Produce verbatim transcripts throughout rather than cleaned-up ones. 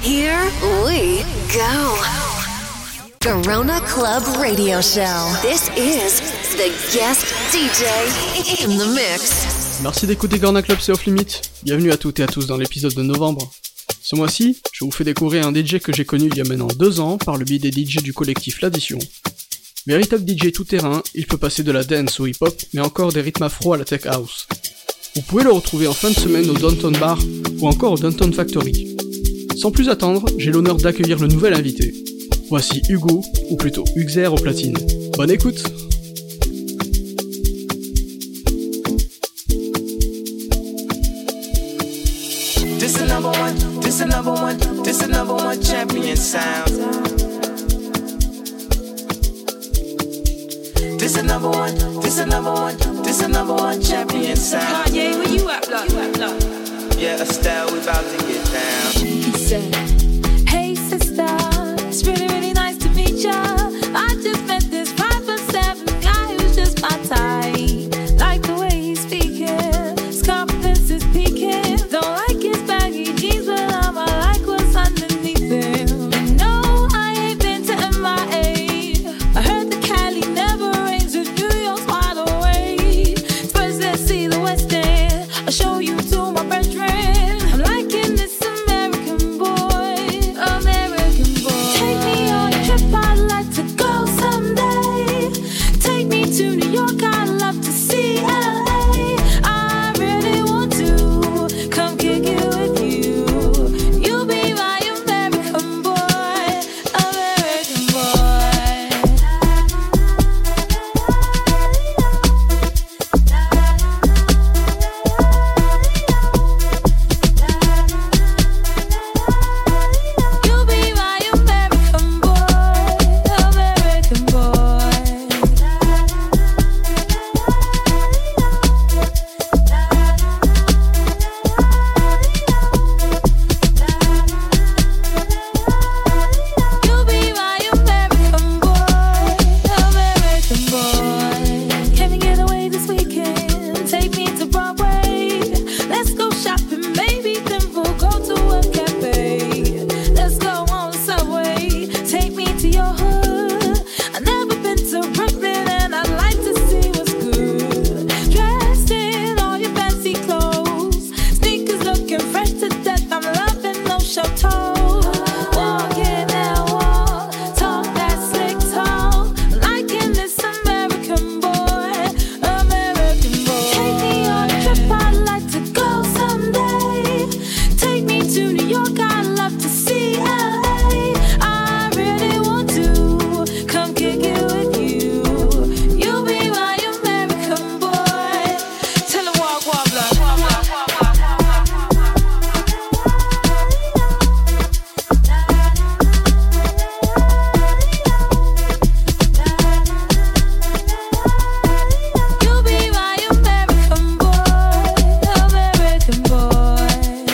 Here we go. Garona Club Radio Show. This is the guest D J in the mix. Merci d'écouter Garona Club, c'est Off Limit. Bienvenue à toutes et à tous dans l'épisode de novembre. Ce mois-ci, je vous fais découvrir un D J que j'ai connu il y a maintenant deux ans par le biais des D J du collectif L'Addition. Véritable D J tout-terrain, il peut passer de la dance au hip-hop, mais encore des rythmes afro à la tech house. Vous pouvez le retrouver en fin de semaine au Downtown Bar ou encore au Downtown Factory. Sans plus attendre, j'ai l'honneur d'accueillir le nouvel invité. Voici Hugo, ou plutôt Huxer au platine. Bonne écoute! This the number one, this the number one, this the number one champion sound. This the number one, this the number one, this the number one champion sound. Kanye, where you at, blood? Yeah, Estelle, we about to get down. He said, hey sister, it's really, really nice to meet ya. I just met this five foot seven guy who's just my type. Like the way he's speaking, his confidence is peaking. Don't like his baggy jeans, but I'ma like what's underneath him. And no, I ain't been to M I A. I heard the Cali never rains, and New York's wide awake. First let's see the West End, I'll show you to my brethren. I'm liking this American boy, American boy. Take me on a trip, I'd like to go someday. Take me to New York, I'd love to see L A. I really want to come kick it with you. You'll be my American boy, American boy. You'll be my American boy, American boy. You'll be my American boy, American boy. Can we get away this weekend? Take me to Broadway. Let's go shopping, maybe then we'll go to a cafe. Let's go on the subway. Take me to your hood. I've never been to Brooklyn and I'd like to see what's good. Dressed in all your fancy clothes, sneakers looking fresh to death. I'm loving those show toes. Walking that walk, talk that slick talk. Liking this American boy, American boy. Take me on a trip, I'd like to go someday. Take me to New York, I'd love to see L A. I really want to come kick it with you. You'll be my American boy. Tell him walk, walk, blood. You'll be my American boy, American boy.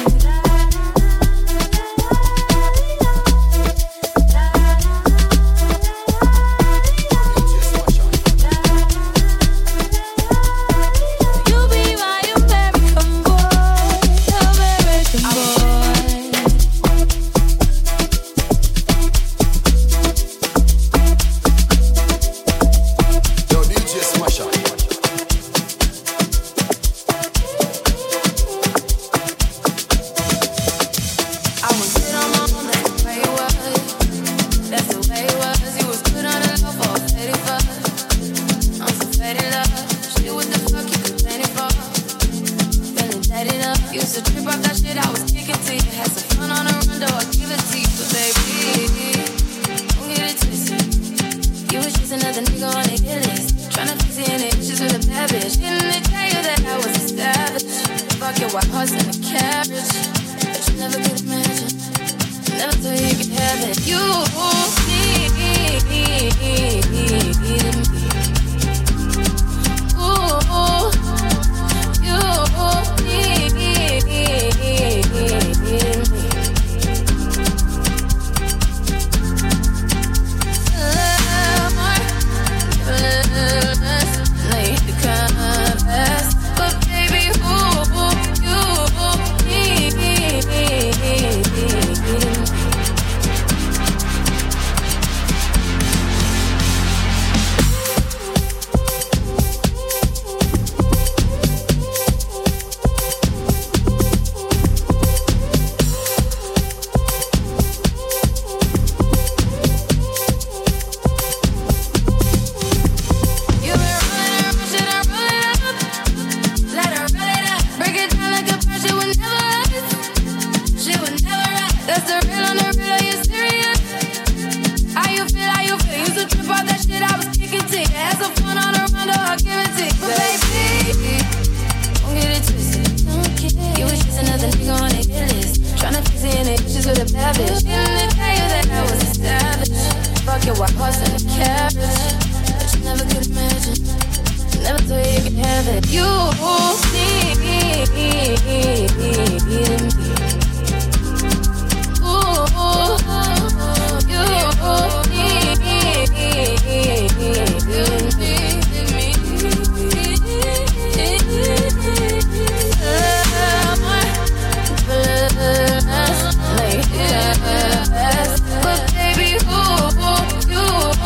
You'll be my American boy, American boy. Yo, D J Smasher. I was good on my own, that's the way it was. That's the way it was. He was good on the low for a faded fuck. I'm so faded love. Shit, what the fuck you complaining for? Feeling dead enough. Used to trip off that shit I was kicking to you. Had some fun on the run, though I give it to you. But baby, don't get it twisted. You was just another nigga on the hit list. Tryna fix any issues with a bad bitch. Didn't tell you that I was a savage. Fuck your white horse and a carriage. But you never could imagine. Never thought you could have it. You need me. Ooh, you need me. Love more, give a little less. Now you hit the compass. But baby, ooh, you need me. That's the real on the real, are you serious? How you feel, how you feel? Used to trip off that shit I was kicking to you. Had some fun on the run, I'll give it to you. But baby, don't get it twisted. You was just another nigga on the hit list. Tryna fix it in the issues with a bad bitch. Didn't tell you that I was a savage. Fuck your white horse and a carriage. But you never could imagine. Never thought you could have it. You need me. Ooh, you but baby, who you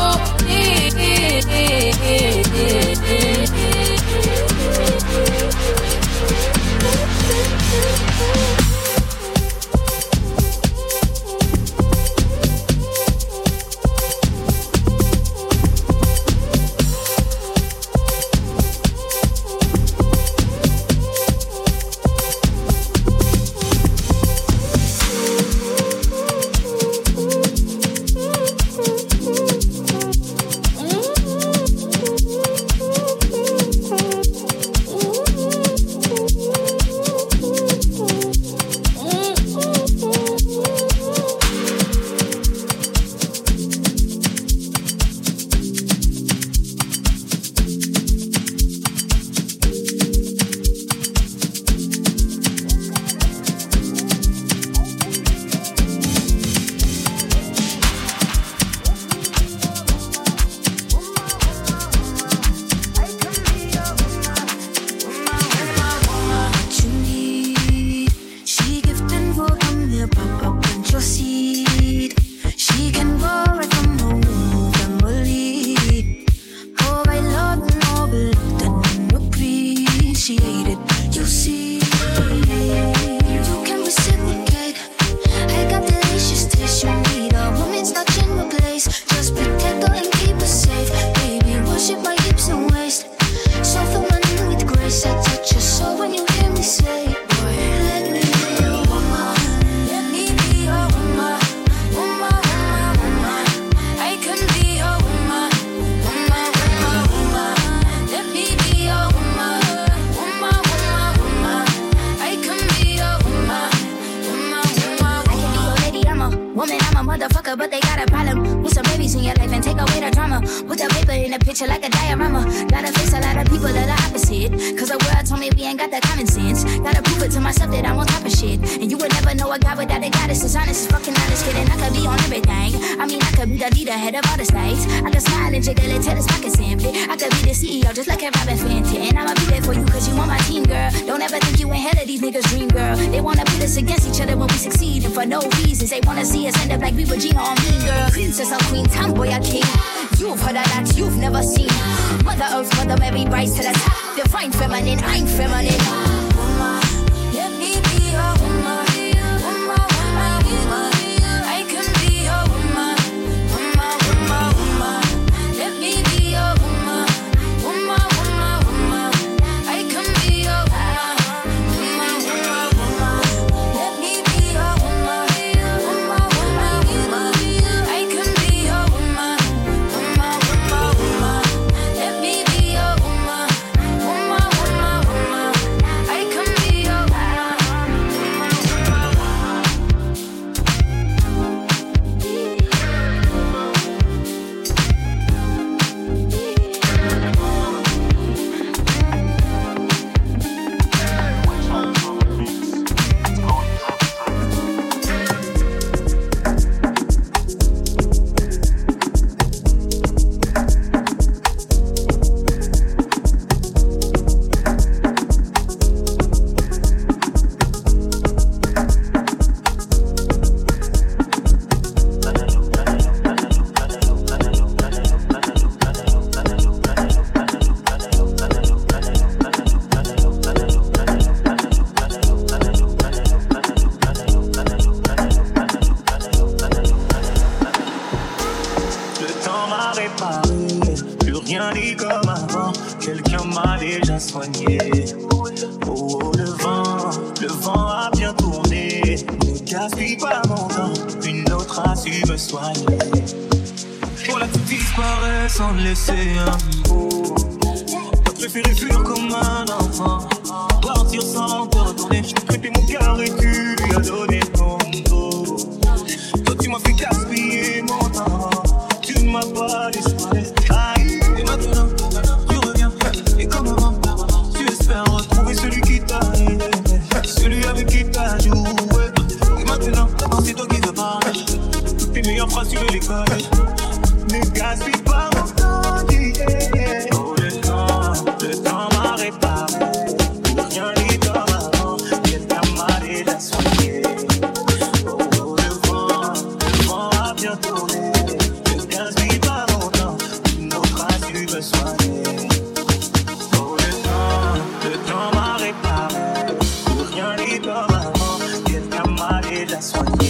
but they got a problem with some babies in your life and take away the drama. Put the paper in a picture like a diorama. Gotta face a lot of people that are opposite, cause the world told me we ain't got that common sense. Gotta prove it to myself that I'm on top of shit. And you would never know a guy without a goddess. As honest as fucking honest, kidding. I could be on everything. I mean, I could be the leader, head of all the states. I could smile and jiggle it till his pockets empty. I could be the C E O just like a Robin Fenton. And I'ma be there for you cause you on my team, girl. Don't ever think you ain't hell of these niggas' dream, girl. They wanna pit us against each other when we succeed, and for no reasons. They wanna see us end up like we were Gina or Mean Girl. Princess or queen, tomboy or king. You've heard of that, you've never seen. Mother Earth, Mother Mary, rise to the top. Divine feminine, I'm feminine. Woman, let me be a woman. Woman, woman, woman. I can be a woman. Woman, woman, woman. Let me be a woman. Woman, woman, woman. I can be a woman. Woman, woman, woman. Let me be a woman. Woman, woman, woman. I can be a woman. Woman, woman, woman. Let me be a woman. Woman, woman, woman. I can be a woman. Le temps m'a réparé, plus rien n'est comme avant. Quelqu'un m'a déjà soigné. Oh, oh, le vent, le vent a bien tourné. Ne gaspille pas mon longtemps, une autre a su me soigner. Voilà, tout disparaît sans laisser un mot. T'as préféré fuir comme un enfant, partir sans te retourner. Je t'ai prêté mon cœur et tu lui as donné ton dos. Toi tu m'as fait gaspiller mon temps, tu ne m'as pas laissé parler. Aïe, et maintenant tu reviens, et comme avant, tu espères retrouver celui qui t'a aidé, celui avec qui t'as joué. Et maintenant, c'est toi qui veux parler, toutes tes meilleures phrases tu veux les coller. Ne gaspille pas mon temps, yeah. Oh le temps, le temps m'a réparé. Rien n'est comme avant, quelqu'un m'a déjà soigné. Oh, oh le vent, le vent a bien tourné. Ne gaspille pas mon temps, une autre a su me soigner. Oh le temps, le temps m'a réparé. Rien n'est comme avant, quelqu'un m'a déjà soigné.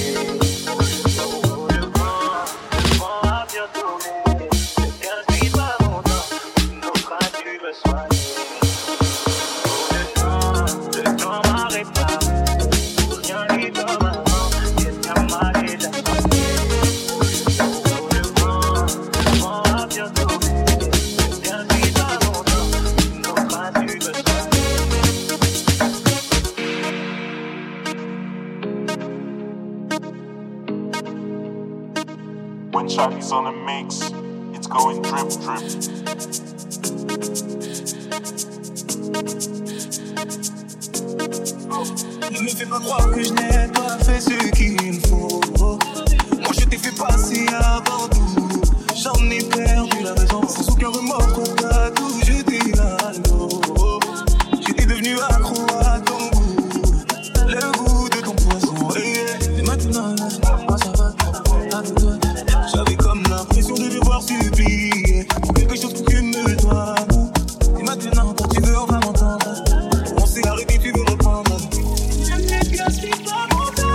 When Shaggy's on a mix, it's going drip drip. Ne me fais pas croire que je n'ai pas fait ce qu'il faut. Moi je t'ai fait passer avant tout. J'en ai perdu la raison. Sans aucun remords, trop à tout. J'étais à l'eau. J'étais devenu accro à ton goût. Le goût de ton poison. Et maintenant, ça va. J'avais comme l'impression de devoir supplier pour quelque chose que tu me dois. Et maintenant, quand tu veux, on va m'entendre. On s'est arrêté, tu veux reprendre. Je ne gaspille pas mon temps.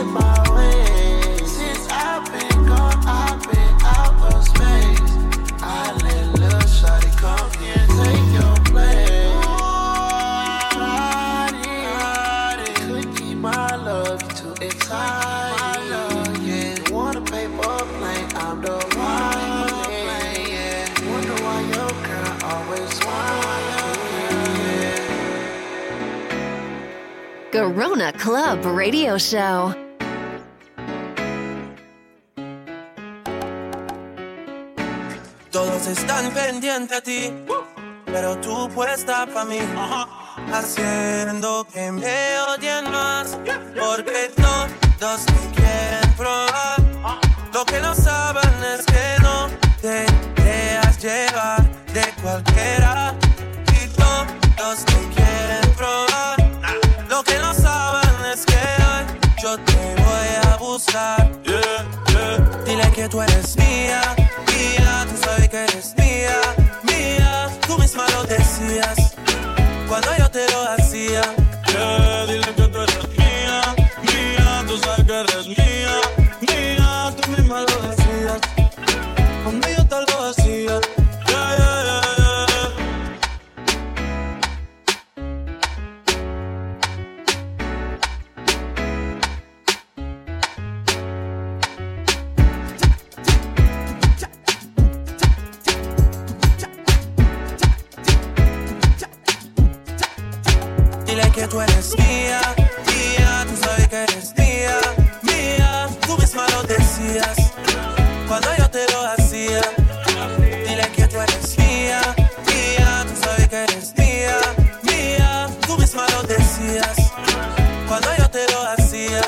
get my way. Since I've been gone, I've been out of space. I let little shawty come here and take your place. Ride it, could keep my love, you too excited. My love, yeah. You want a paper plane, I'm the one. Yeah. Wonder why your girl always smiling. Yeah. Garona Club Radio Show. Todos están pendientes a ti, pero tú puesta pa' mí, haciendo que me odien más, porque todos te quieren probar. Lo que no saben es que no te dejas llevar de cualquiera, y todos te quieren probar. Lo que no saben es que hoy yo te voy a buscar. Yeah, yeah. Dile que tú eres mía, mía, tú sabes que eres mía, mía. Tú misma lo decías cuando yo te lo hacía. Yeah, dile que tú eres mía, mía, tú sabes que eres mía, mía. Tú misma lo decías cuando yo te lo hacía. Yeah, yeah, yeah, yeah. Dile que tú eres mía, mía, tú sabes que eres mía, mía. Tú misma lo decías cuando yo te lo hacía. Dile que tú eres mía, mía, tú sabes que eres mía, mía. Tú misma lo decías cuando yo te lo hacía.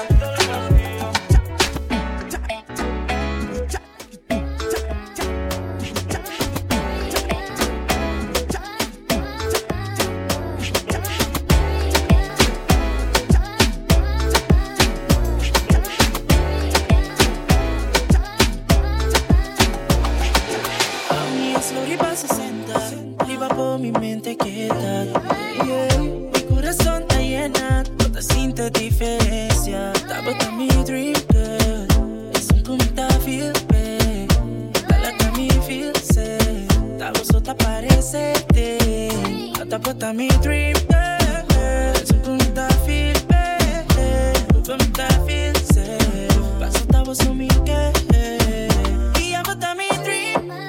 Mi mente quieta, yeah. Mi corazón está llena, toda cinta diferencia. That was me dream girl. It's something that I feel bad. That like me feel sad. That was what I parece. That was me dream girl. It's something that I feel bad. Something that I feel sad. Paso that was on me girl. Y I was me dream girl.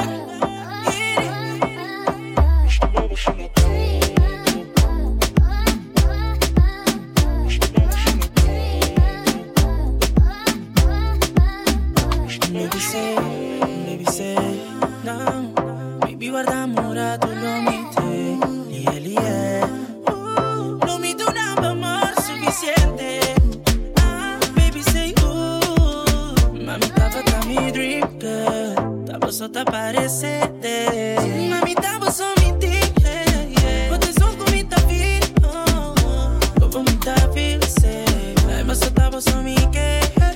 Baby say, baby say, no. Baby guarda amore, tu lo mite. Lie, lie. Uh, no mi do nada amor suficiente. Ah, baby say, uh. Mami, tava ta mi dream girl. Tava só ta parecete. Mami, tava só mi dick, yeah. Poate son cu mi ta feel, oh. Como mi ta feel, say. Ai, mas só tava só mi que.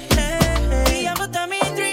Y ava ta mi dream.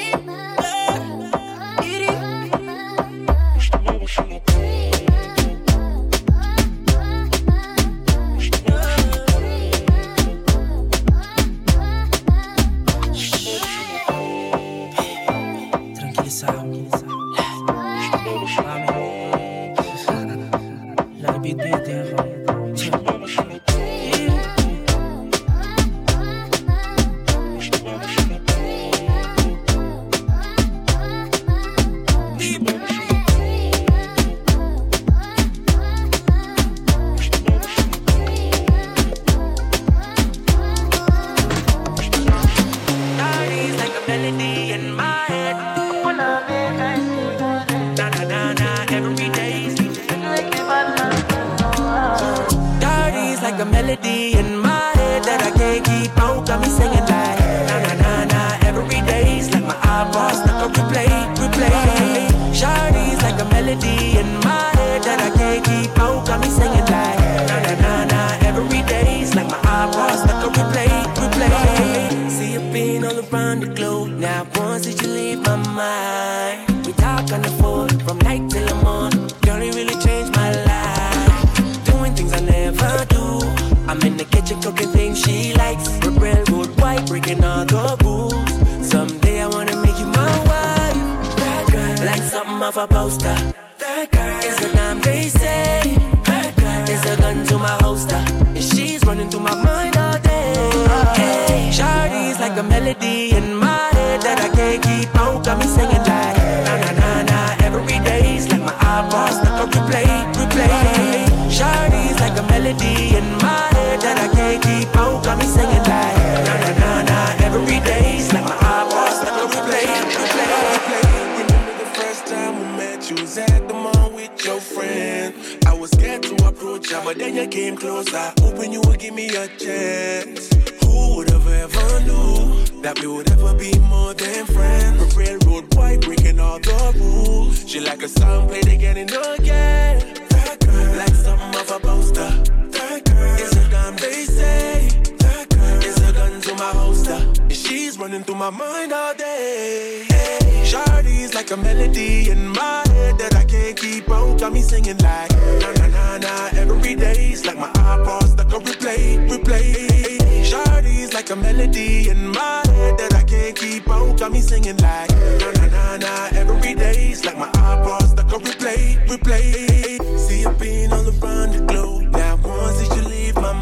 I'm in the kitchen cooking things she likes. Real good. breaking all the rules. Someday I wanna make you my wife. That girl, like something off a poster. That girl is a dime they say. That girl is a gun to my holster, and she's running through my mind all day. Hey, Shawty's like a melody in my head that I can't keep out. Got me singing like na na na na every day's like my eyeballs stuck on replay, replay. Shawty's like a melody in my head that I can't keep out. Got me singing like na na na na every day's like my eyeballs stuck on replay, replay, replay. Remember the first time we met? You was at the mall with your friend. I was scared to approach ya, but then you came closer, hoping you would give me a chance. Who would have ever knew that we would ever be more than friends? A railroad boy breaking all the rules. She like a song played again and again. That girl, like something off a poster. That girl is a damn they say. That girl is a gun to my holster, and she's running through my mind all day. Hey, Shawty's like a melody in my head that I can't keep out. Got me singing like na na na na every day's like my iPod stuck on replay, replay. Shawty's like a melody in my head that I can't keep out. Got me singing like na na na na every day's like my iPod stuck on replay, replay. See you being all around the globe. Now once did you leave my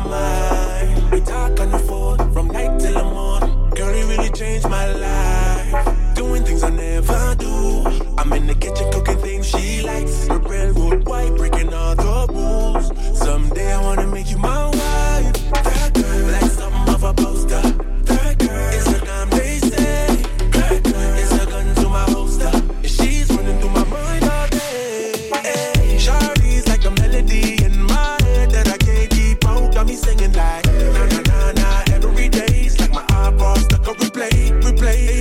mind? We talk on the phone from night till the morning. Girl, you really changed my life. Doing things I never do. I'm in the kitchen cooking things she likes. A railroad white breaking all the rules. Someday I wanna make you my wife. That girl, like something off a poster. That girl is a damn they say. That girl is a gun to my holster, and she's running through my mind all day. Hey, Shawty's like a melody in my head that I can't keep out. Got me singing like na na na na every day's like my iPod stuck on replay, replay.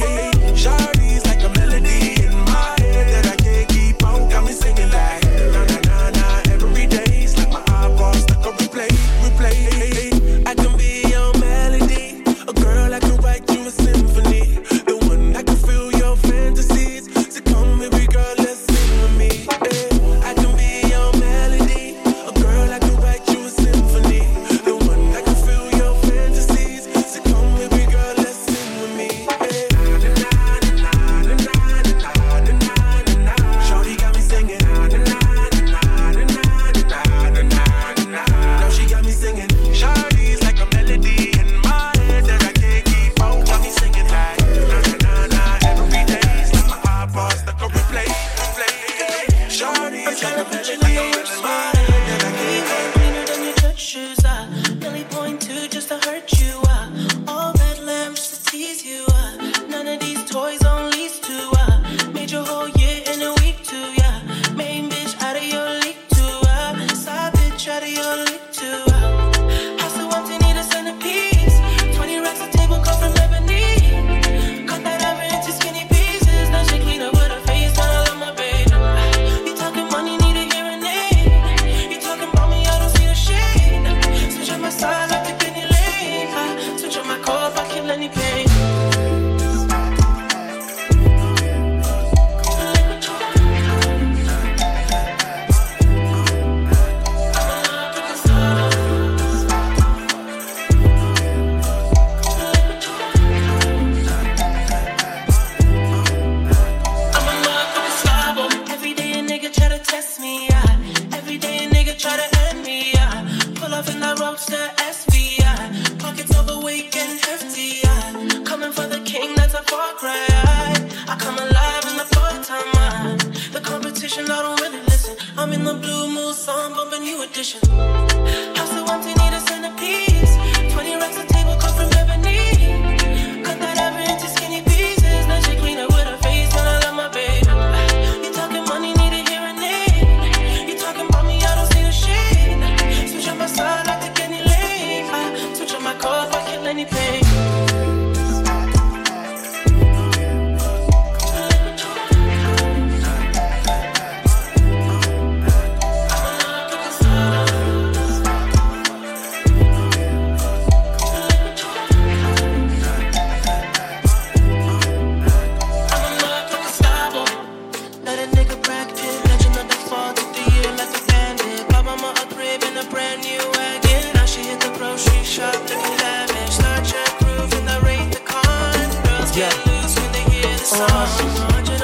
Yeah. Oasis.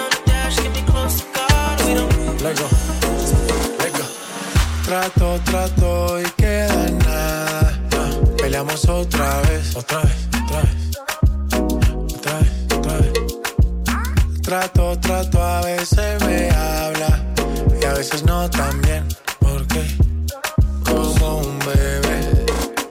Let go. Let go. Trato, trato y queda en nada. Uh, peleamos otra vez. Otra vez, otra vez. Otra vez, otra vez. Trato, trato, a veces me habla y a veces no tan bien. ¿Por qué? Como un bebé.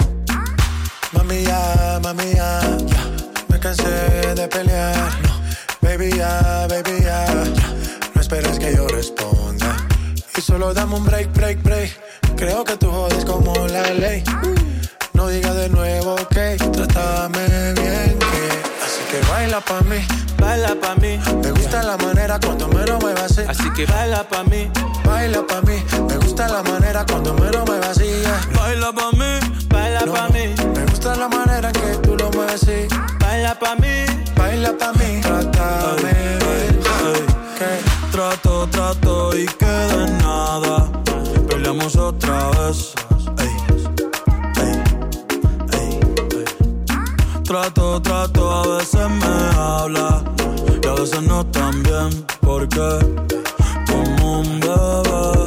Mami ya, mami ya, ya. Me cansé de pelear. No. Baby ya, baby ya, ya. No esperes que yo responda. Y solo dame un break, break, break. Creo que tú jodes como la ley. No digas de nuevo, ok. Trátame bien, que. Así que baila pa' mí. Baila pa' mí. Me gusta la manera cuando me lo muevas así. Así que baila pa' mí. Baila pa' mí. Me gusta la manera cuando me lo muevas así. Baila pa' mí. Baila no, pa' mí. Me gusta la manera que tú lo mueves así. Baila pa' mí. Baila pa' mí. Trátame bien. ¿Qué? Trato, trato y queda en nada. Peleamos otra vez. Ey, ey, ey, ey. Trato, trato, a veces me habla y a veces no tan bien. Porque como un bebé.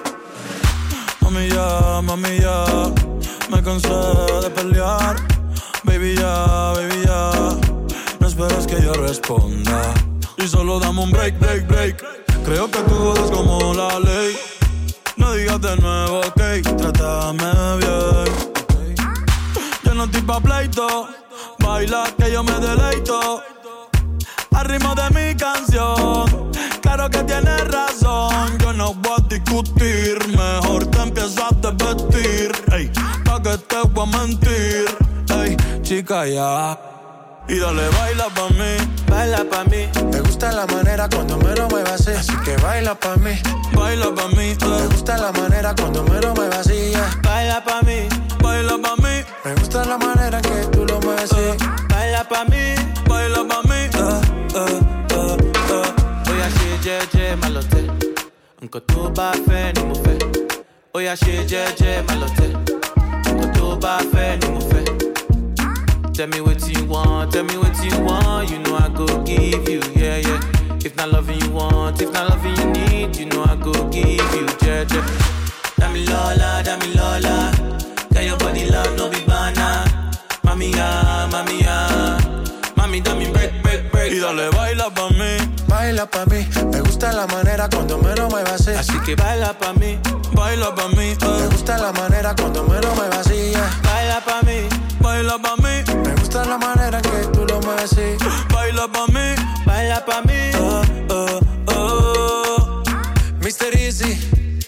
Mami ya, mami ya, me cansé de pelear. Baby ya, baby ya, no esperes que yo responda. Y solo dame un break, break, break. Creo que tú jodes como la ley. No digas de nuevo, ok. Trátame bien. Yo no estoy pa' pleito. Baila que yo me deleito. Al ritmo de mi canción. Claro que tienes razón. Yo no voy a discutir. Mejor te empiezo a desvestir. Ey, pa' que te voy a mentir. Ey, chica ya. Y dale, baila pa' mí, baila pa' mí. Me gusta la manera cuando me lo muevas así. Así que baila pa' mí, baila pa' mí. Eh. Me gusta la manera cuando me lo muevas así. Yeah. Baila pa' mí, baila pa' mí. Me gusta la manera que tú lo mueves así. Eh. Baila pa' mí, baila pa' mí. Eh, eh, eh, eh. Oya shit, yeah, yeah, malote. Unko tu ba fe ni mo fe. Oya shit, yeah, yeah, malote. Unko tu ba fe ni mo fe. Tell me what you want, tell me what you want. You know I go give you, yeah, yeah. If not loving you want, if not loving you need, you know I go give you, yeah, yeah. Dami Lola, Dami Lola. Got your body love, no be banana. Mami ya, mami ya. Mami, dame break, break, break. Y dale, baila pa' mí. Baila pa' mí. Me gusta la manera cuando me lo muevas así. Así que baila pa' mí, baila pa' mí. Eh. Me gusta la manera cuando me lo muevas así. Yeah. Baila pa' mí, baila pa' mí. Me gusta la manera que tú lo mueves así. Baila pa' mí, baila pa' mí. Uh, uh, uh. mister Easy,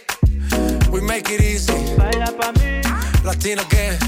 we make it easy. Baila pa' mí. Latino Gang,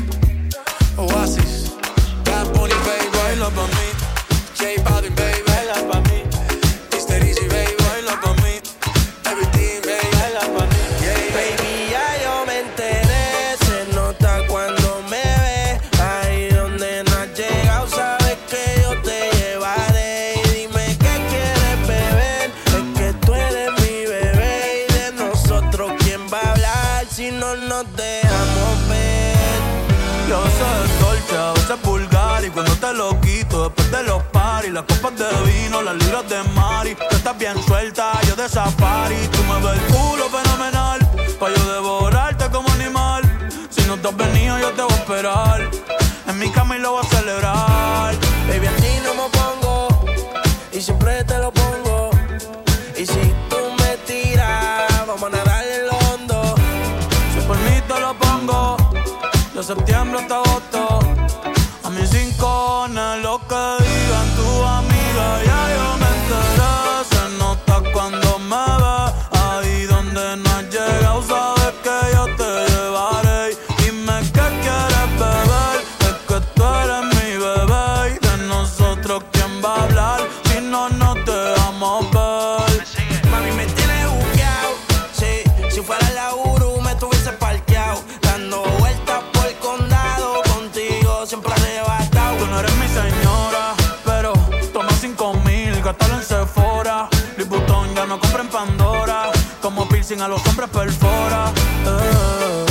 Oasis, Bad Bunny, baby. Baila pa' mí. J Balvin, baby. Baila pa' mí. mister Easy, baby. Baila pa' mí. Everything, baby. Baila pa' mí. Yeah, yeah. Baby, ya yo me enteré. Se nota cuando me ves. Ahí donde no has llegado, sabes que yo te llevaré. Y dime qué quieres beber. Es que tú eres mi bebé. Y de nosotros, ¿quién va a hablar si no nos dejamos ver? Yo soy dolce, a veces vulgar. Y cuando te lo quito, después de los paris, las copas de vino, las libras de mari. Tú estás bien suelta, yo de safari. Tú me ves el culo fenomenal, pa' yo devorarte como animal. Si no te has venido, yo te voy a esperar. En mi cama y lo voy a celebrar. Baby, a ti no me pongo, y siempre te lo pongo. Y si tú me tiras, vamos a nadar en lo hondo. Si por mí te lo pongo, de septiembre hasta agosto. A mis rincones, lo que digan tu amiga, ya yo me enteré. Se nota cuando me ves, ahí donde no has llegado, sabes que yo te llevaré. Dime qué quieres beber, es que tú eres mi bebé. Y de nosotros, ¿quién va a hablar si no nos dejamos ver? Mami, me tienes buqueado, sí. Si fuera la Uru, me tuviese parqueado. Dando vueltas por el condado, contigo siempre arrebatado. Tú no eres mi señora, pero toma cinco mil, gástalo en Sephora. Louis Vuitton ya no compra en Pandora. Como piercing a los hombres perfora. Eh.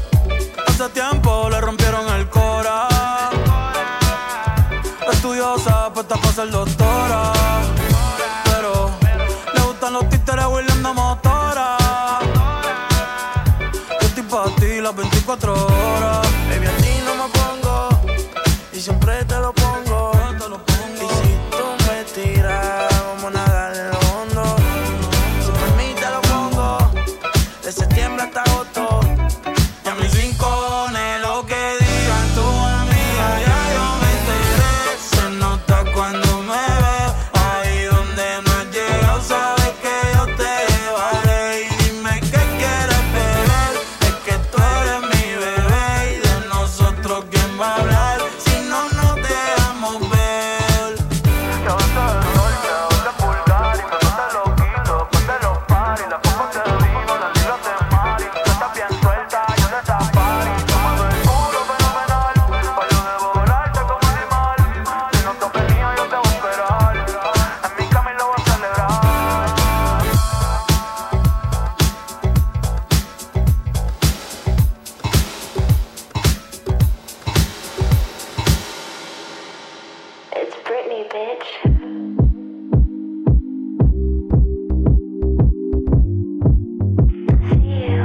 Hace tiempo le rompieron el cora. Estudiosa, dura, puesta pa' ser doctora. Pero le gustan los títeres huirleando motora. Yo estoy pa' ti las veinticuatro horas. Baby, a ti no me pongo y siempre te lo pongo. Y si tú me tiras, vamos a nadar en lo hondo. Si por mí te lo pongo, de septiembre hasta agosto. Y a mis rincones, lo que digan tus amigas, ya yo me enteré. Se nota cuando me ves, ahí donde no has llegado, sabes que yo te llevaré. Y dime qué quieres beber, es que tú eres mi bebé. Y de nosotros quién va a hablar, si no nos dejamos ver. Ya basta de rol, ya basta de pulgar. Y me mata loquito, después de los paris. Las copas de vino, las libras de mari. Tú estás bien suelta, yo de safari. Tomando el culo fenomenal, pa' yo devorarte como animal. Si no te venía, yo te voy a esperar. En mi cama y lo voy a celebrar. It's Britney, bitch. I see you,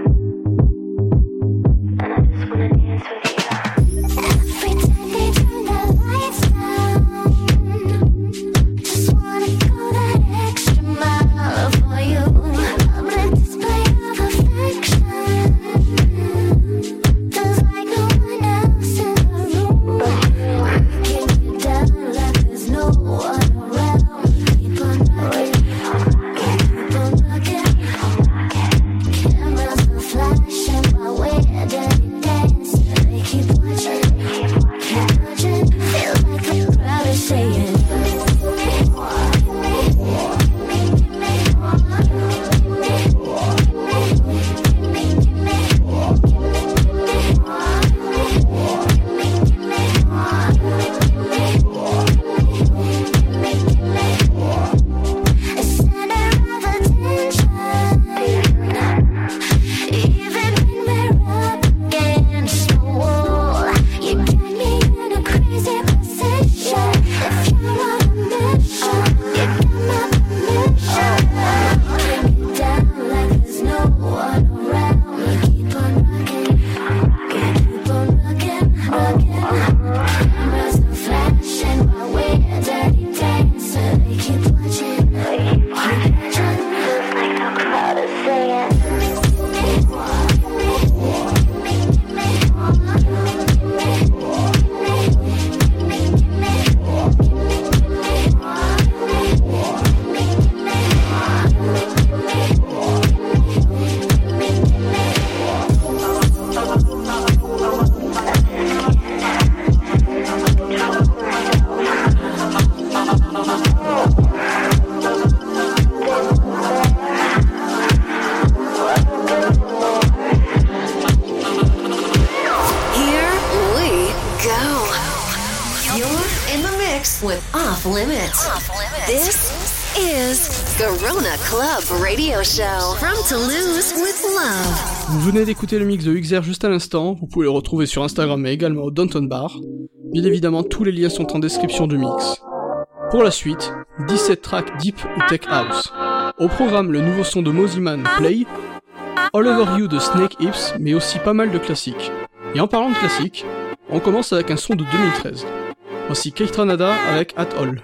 and I just wanna dance with you. Every time they turn the lights down, just wanna go that extra mile for you. Public display of affection, 'cause like no one else in the room. Keep it down like there's no one around. Keep on rocking, keep on rocking. Cameras are flashing while we're dirty dancing. They keep watching, keep watching. Feel like the crowd is saying. A center of attention, even when we're up against the wall. You got me in a crazy position. If you're on a mission, you got my permission. Keep it down like there's no one around. Keep on rocking, keep on rocking, rocking. Cameras are flashing while we're dirty dancing. They keep watching, keep watching. Feels like the crowd is saying. Here we go. You're in the mix with Off Limits. This is Garona Club Radio Show from Toulouse with Love. Vous venez d'écouter le mix de Uxer juste à l'instant, vous pouvez le retrouver sur Instagram mais également au Downtown Bar. Bien évidemment, tous les liens sont en description du mix. Pour la suite, dix-sept tracks Deep ou Tech House. Au programme, le nouveau son de Mosiman, Play, All Over You de Snake Hips, mais aussi pas mal de classiques. Et en parlant de classiques, on commence avec un son de deux mille treize. Voici Kate Ranada avec At All.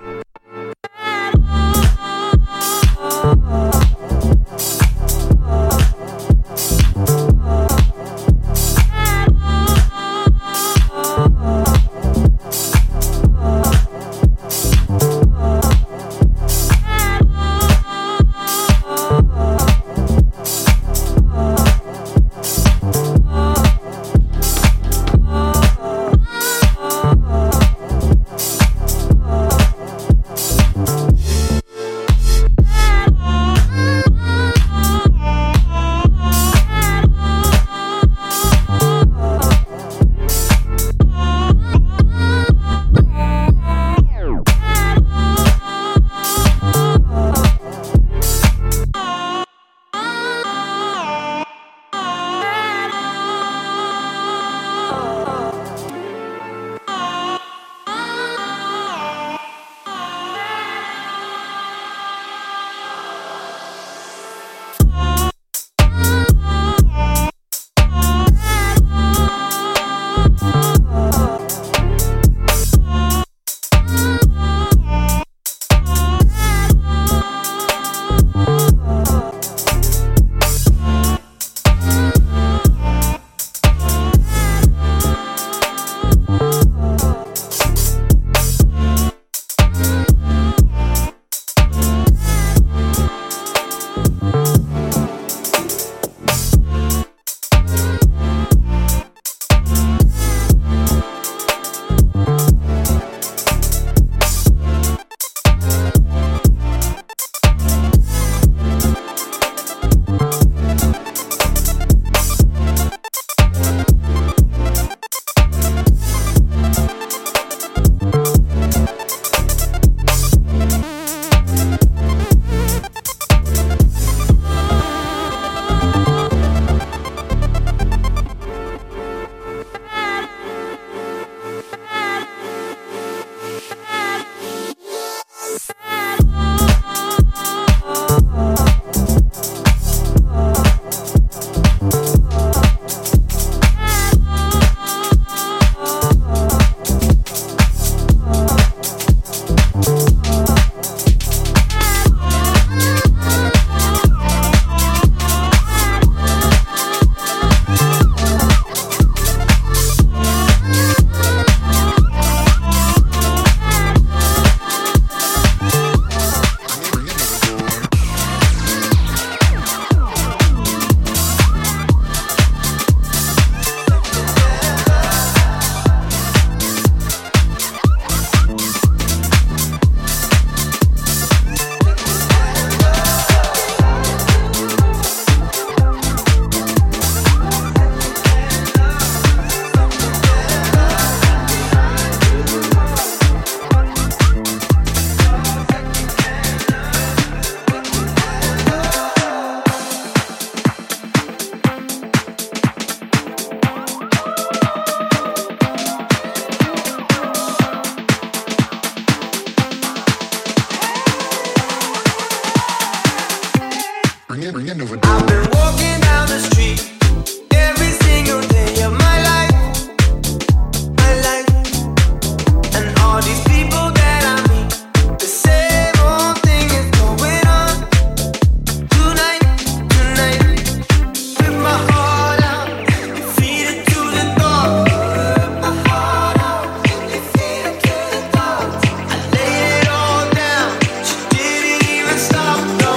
I've been walking down the street every single day of my life, my life, and all these people that I meet, the same old thing is going on tonight, tonight. With my heart out, feed it to the dog. With my heart out, feed it to the dog. I laid it all down, she didn't even stop. No.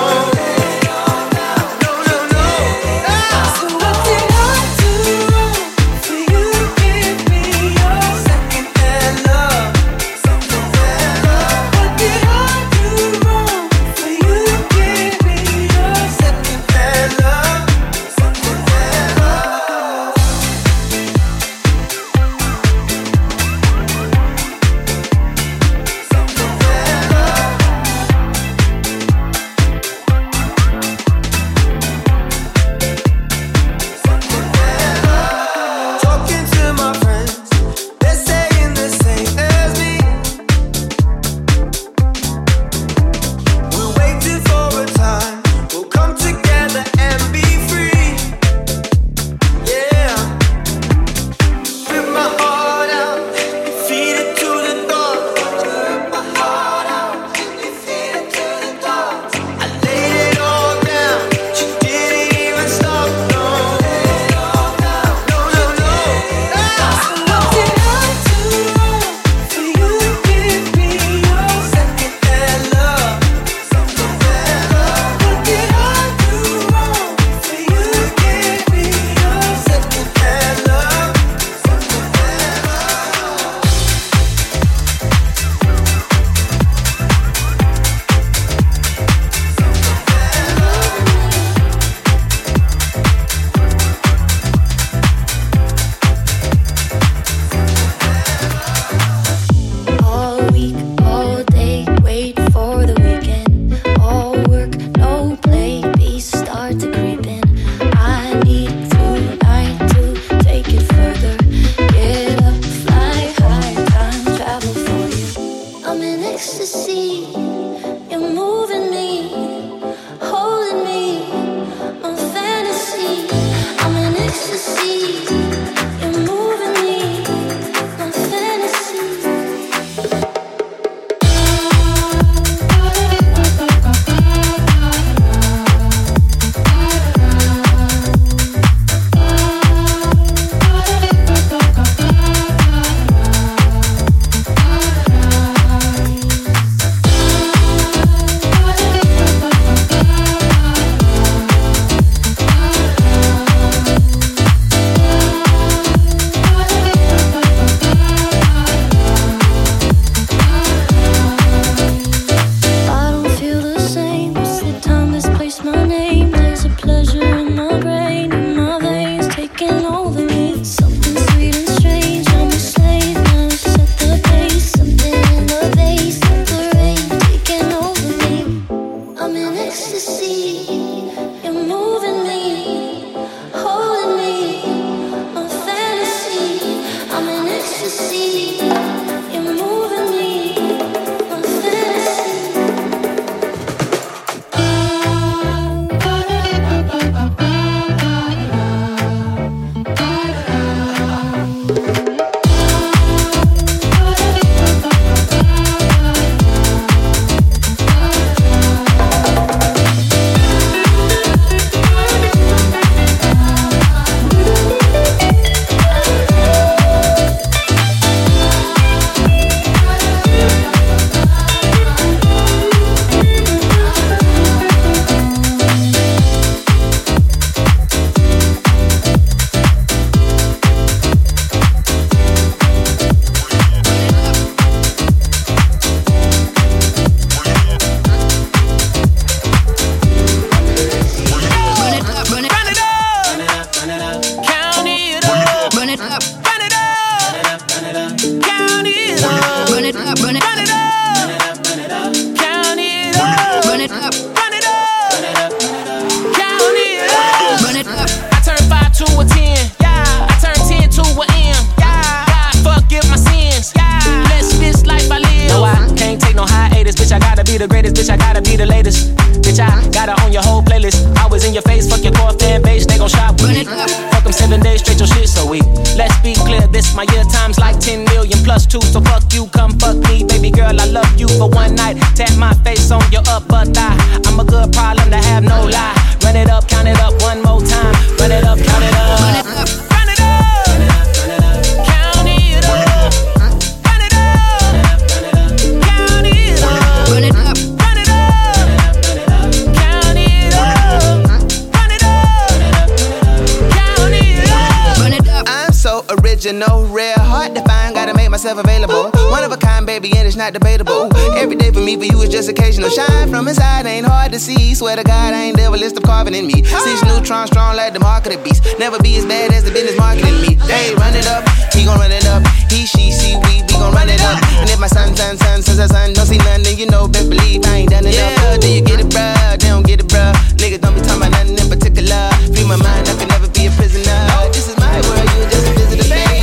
your face, fuck your core fan base, they gon' shop with me. Fuck them seven days straight, your shit so weak. Let's be clear, this my year times like ten million plus two. So fuck you, come fuck me, baby girl, I love you for one night. Tap my face on your upper thigh. I'm a good problem to have, no lie. Run it up, count it up one more time. Run it up, count it up. Run it up. Run it up. Run it up. Count it up. Run it up. Count it up. Run it up. Run it up. Count it up. Run it up. Count it up. Run it up. I'm so original, rare, hard to find, gotta make myself available. One of a kind, baby, and it's not debatable. Every day for me, for you, is just occasional. Shine from inside, ain't hard to see. Swear to God, I ain't never list of carving in me. Six neutrons strong like the mark of the beast. Never be as bad as the business marketing me. They run it up, he gon' run it up. He, she, she, we, we gon' run it up. And if my son, son, son, son, son, son don't see nothing, then you know, best believe I ain't done enough. Yeah. Do you get it, bruh? They don't get it, bruh. Niggas don't be talking about nothing in particular. Free my mind, I can never be a prisoner. This is my world, you just a visitor, baby.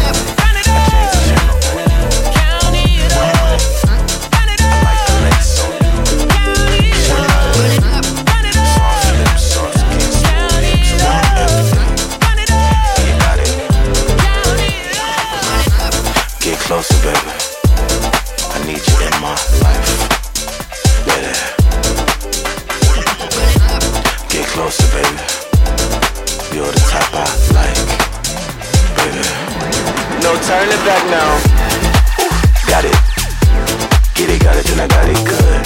Closer, baby. I need you in my life. Baby. Get closer, baby. You're the type I like. Baby. No turning back now. Ooh, got it. Get it, got it, then I got it good.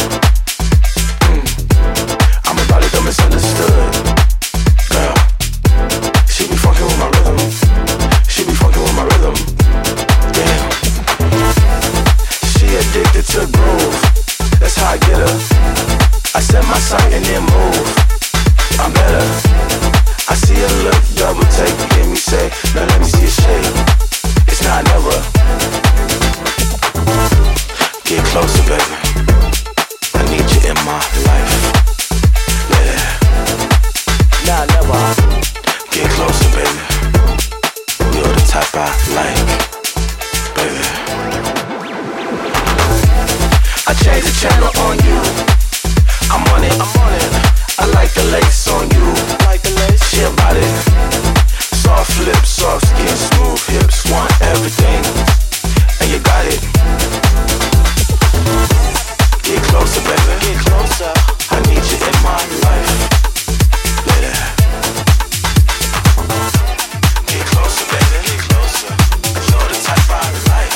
Mm. I'm about it, don't misunderstood. Girl, she be fucking with my rhythm. She be fucking with my rhythm. Damn. She addicted to groove. That's how I get her. I set my sight and then move. I'm better. I see her look, double take, you hear me say, now let me see a shake. It's not never. Get closer, baby. I need you in my life. Yeah. Nah, never. Get closer, baby. You're the type I like. Baby. I changed the channel on you. I'm on it, I'm on it. I like the lace on you. Like the lace, she about it. Soft lips, soft skin, smooth hips, want everything, and you got it. Get closer, baby. Get closer. I need you in my life. Yeah. Get closer, baby. Get closer. You're the type I like.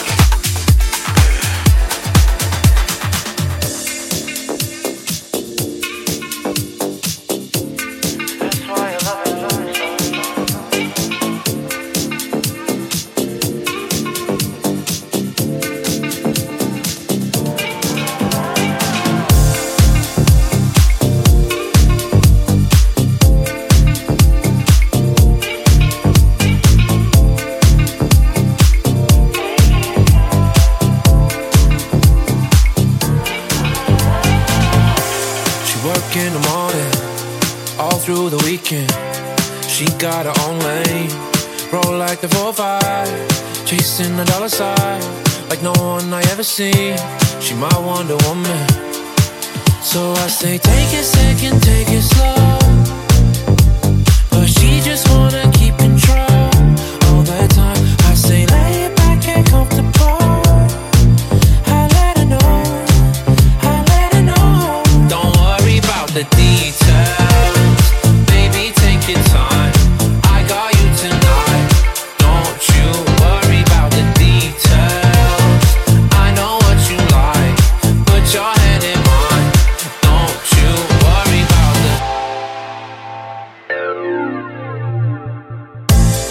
In the morning, all through the weekend, she got her own lane. Roll like the four five, chasing the dollar sign like no one I ever seen. She my Wonder Woman. So I say, take a second, take it slow. But she just wanna keep control all the time. I say, lay it back and comfortable. The details, baby, take your time. I got you tonight. Don't you worry about the details. I know what you like. Put your hand in mine. Don't you worry about the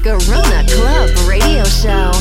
Garona Club Radio Show.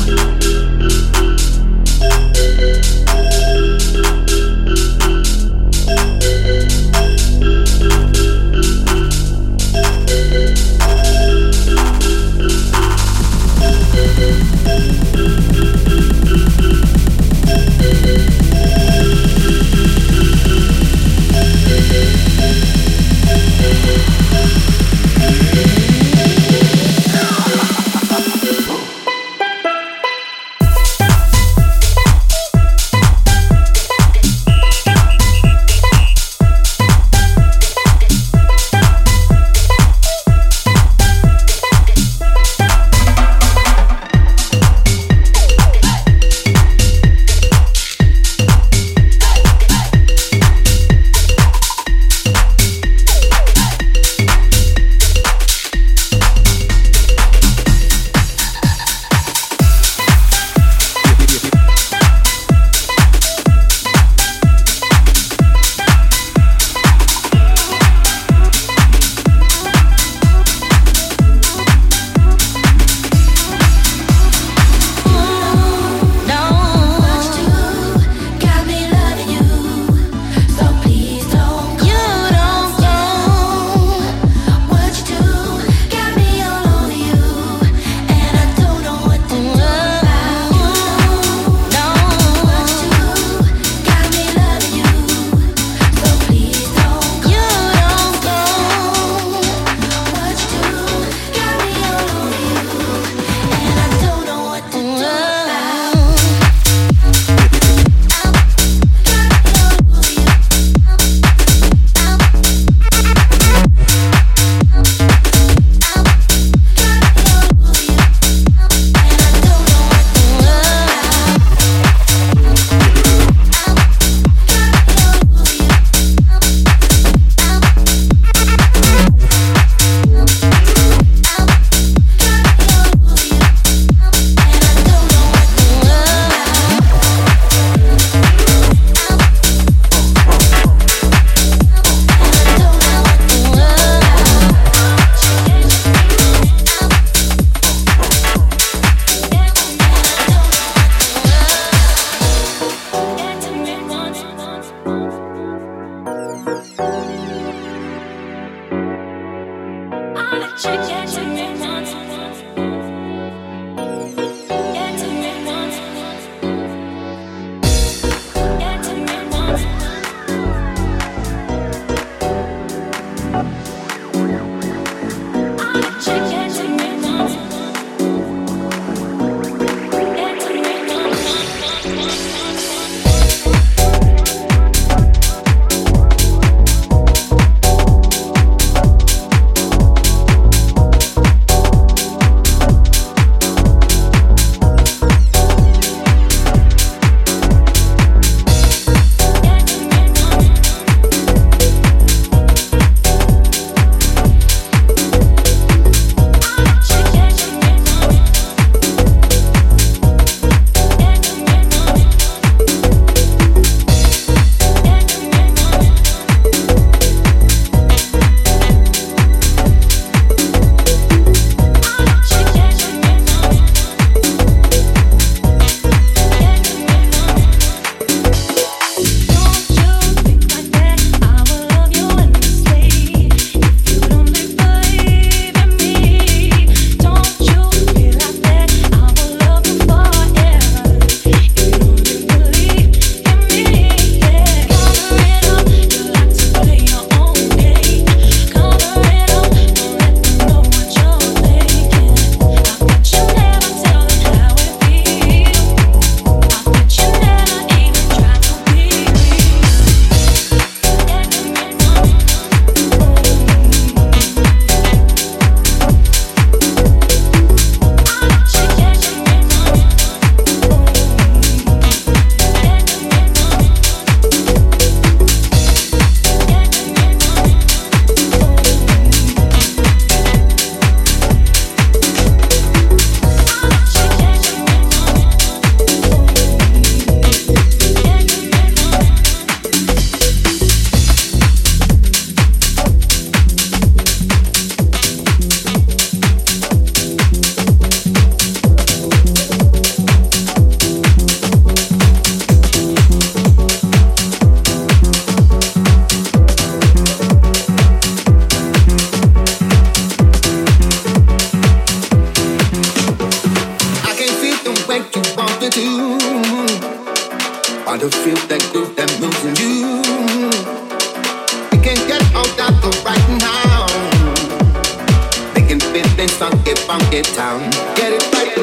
funky town. Get it right.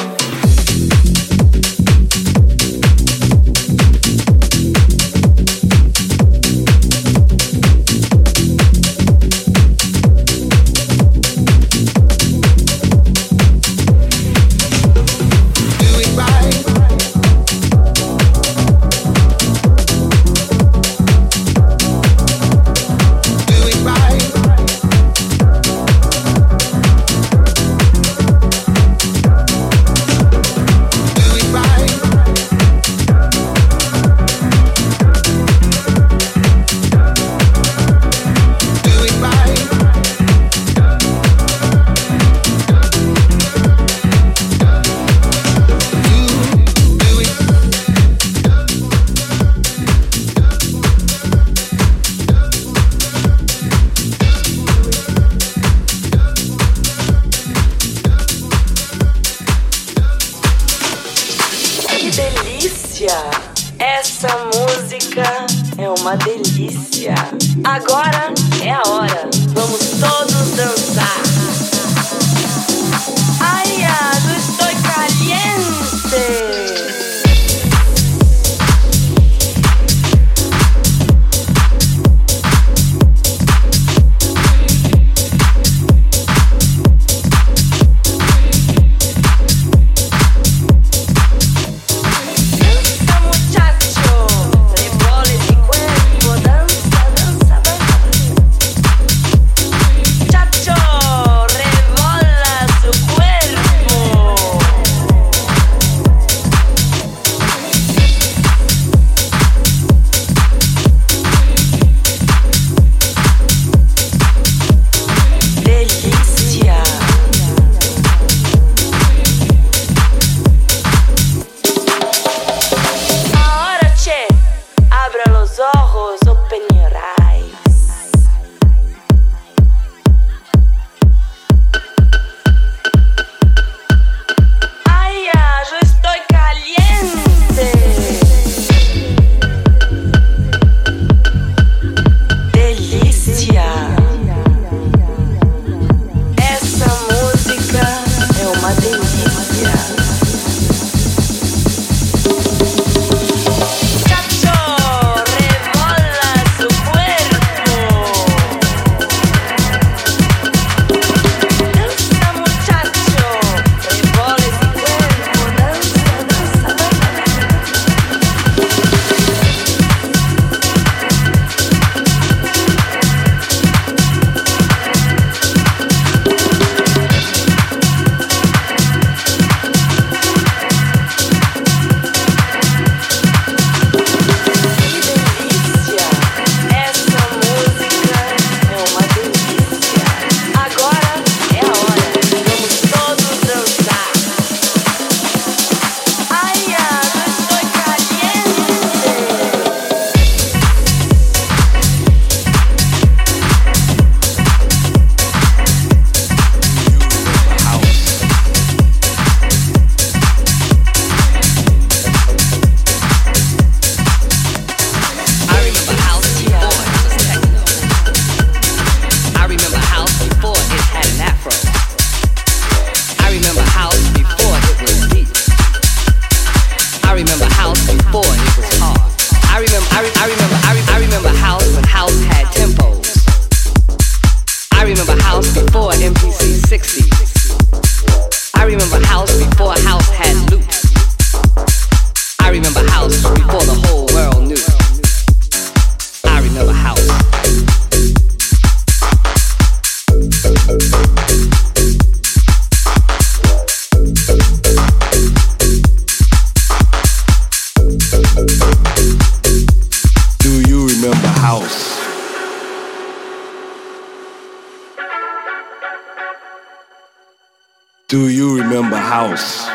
Do you remember house?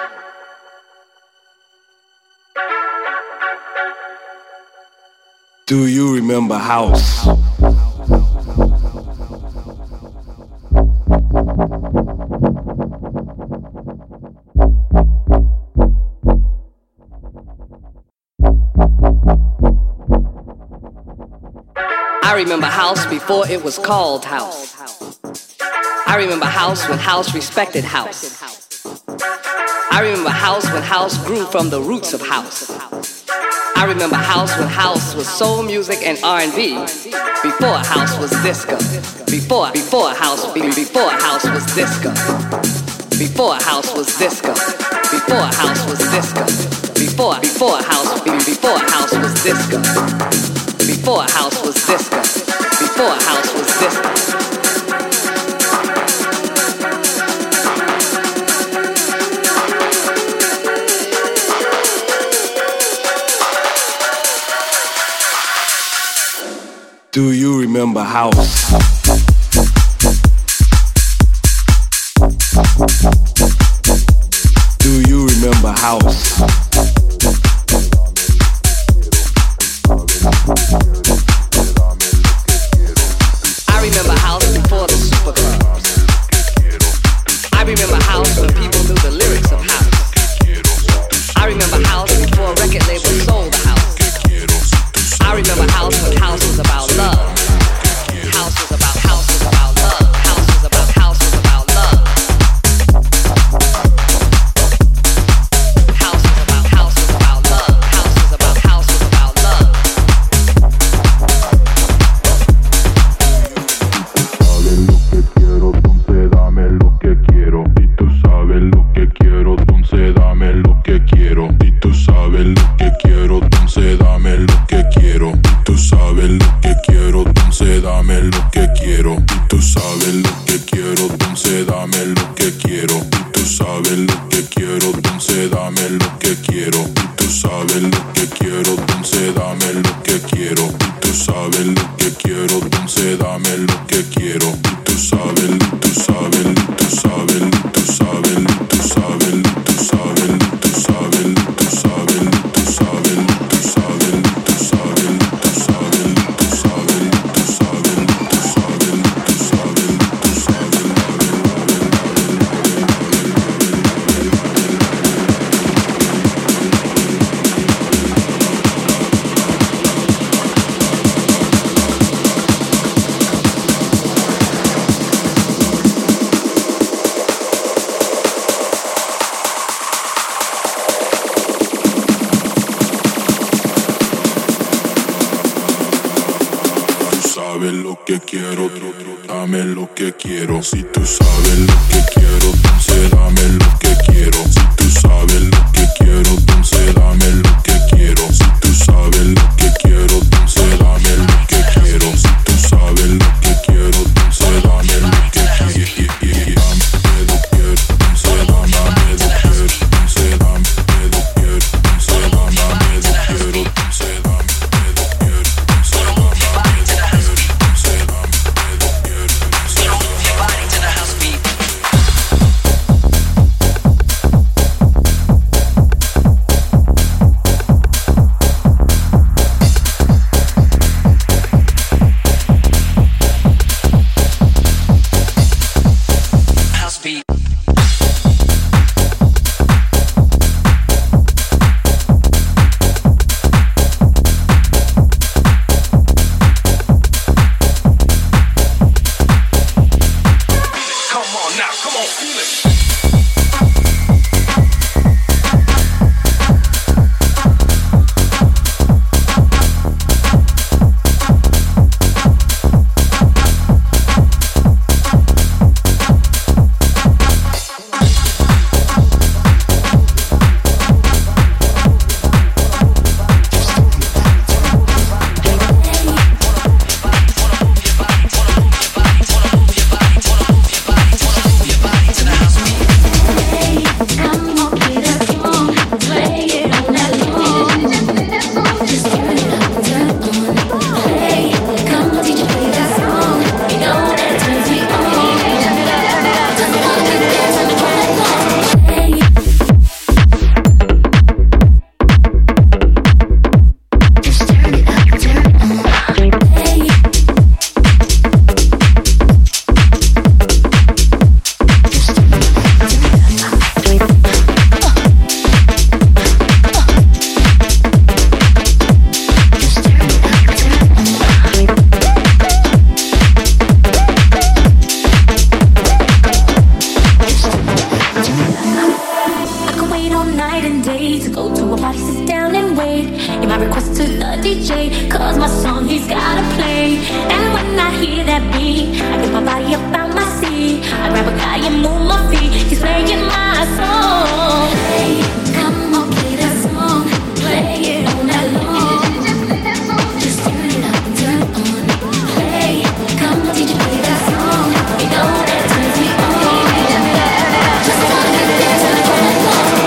Do you remember house? I remember house before it was called house. I remember house when house respected house. I remember house when house grew from the roots of house. I remember house when house was soul music and R and B. Before house was disco. Before, before house, before house was disco. Before house was disco. Before house was disco. Before, before house, before house was disco. Before house was disco. Before house was disco. Do you remember house? Do you remember house? I remember house before the superclubs. I remember house when people knew the lyrics of house. I remember house before record labels sold the house. I remember house when house was about love. House was about house was about love. House was about house was about love. House was about house was about love. House was about house was about love. sabes lo que quiero, entonces dame lo que quiero. Y tú sabes lo que quiero, entonces dame lo que quiero. Y tú sabes lo que quiero, entonces dame lo que quiero. Y tú sabes lo que quiero, entonces dame lo que quiero. Y tú sabes lo que quiero, entonces dame lo que quiero. Y tú sabes lo que quiero, entonces dame lo que quiero. Y tú sabes, y tú sabes, y tú sabes, y tú sabes, y tú sabes, y tú sabes, y tú sabes, y tú sabes, y tú sabes, y tú sabes, y tú sabes, y tú sabes, y tú sabes, y tú sabes, y tú sabes, y tú sabes, y tú sabes lo que quiero, dame lo que quiero. Si tú sabes lo que quiero, entonces dame lo que quiero. Si tú sabes lo que quiero, entonces dame lo que quiero. Si tú sabes lo que quiero, entonces dame lo que quiero. Si tú sabes lo que quiero, entonces dame lo que quiero. Dame lo que quiero, entonces dame lo que quiero. Entonces dame lo que quiero, entonces dame lo que quiero. Entonces dame To the house beat. with my body up on my seat. I grab a guy and move my feet. He's playing my song. Hey, come on, play that song. Play it all night long. Just turn it up and turn it on. Play, come on, D J, play that song. You know that turns me on. Just wanna get dance all night long.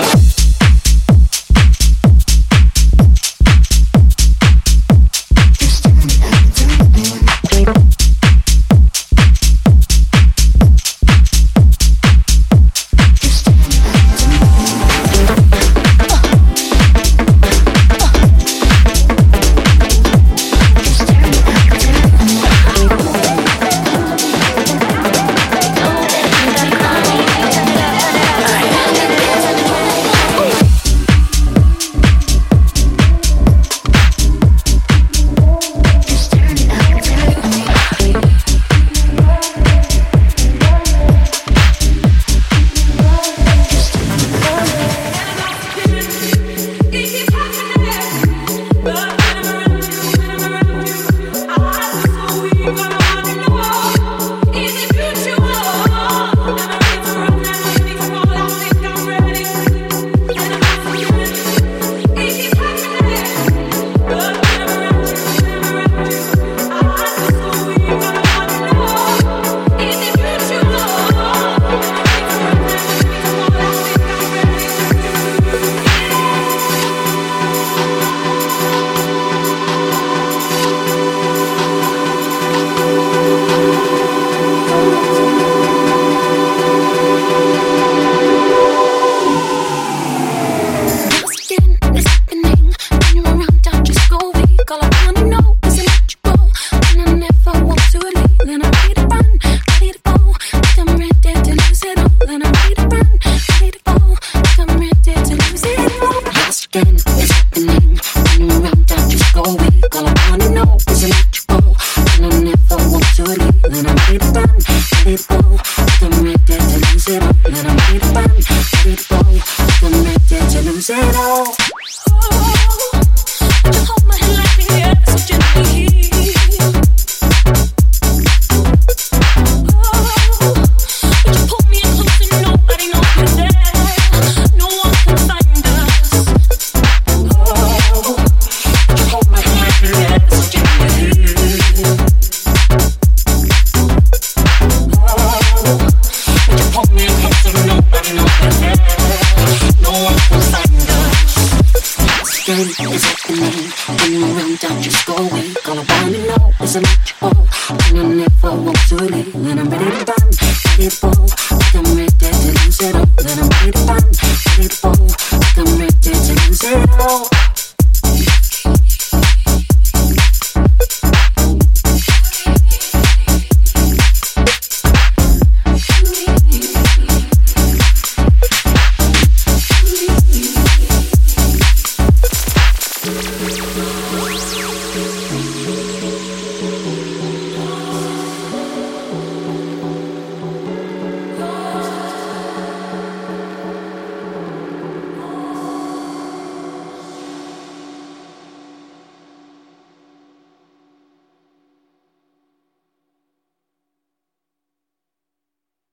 It's electrical, and I never want to leave. When I'm ready to run, ready to go.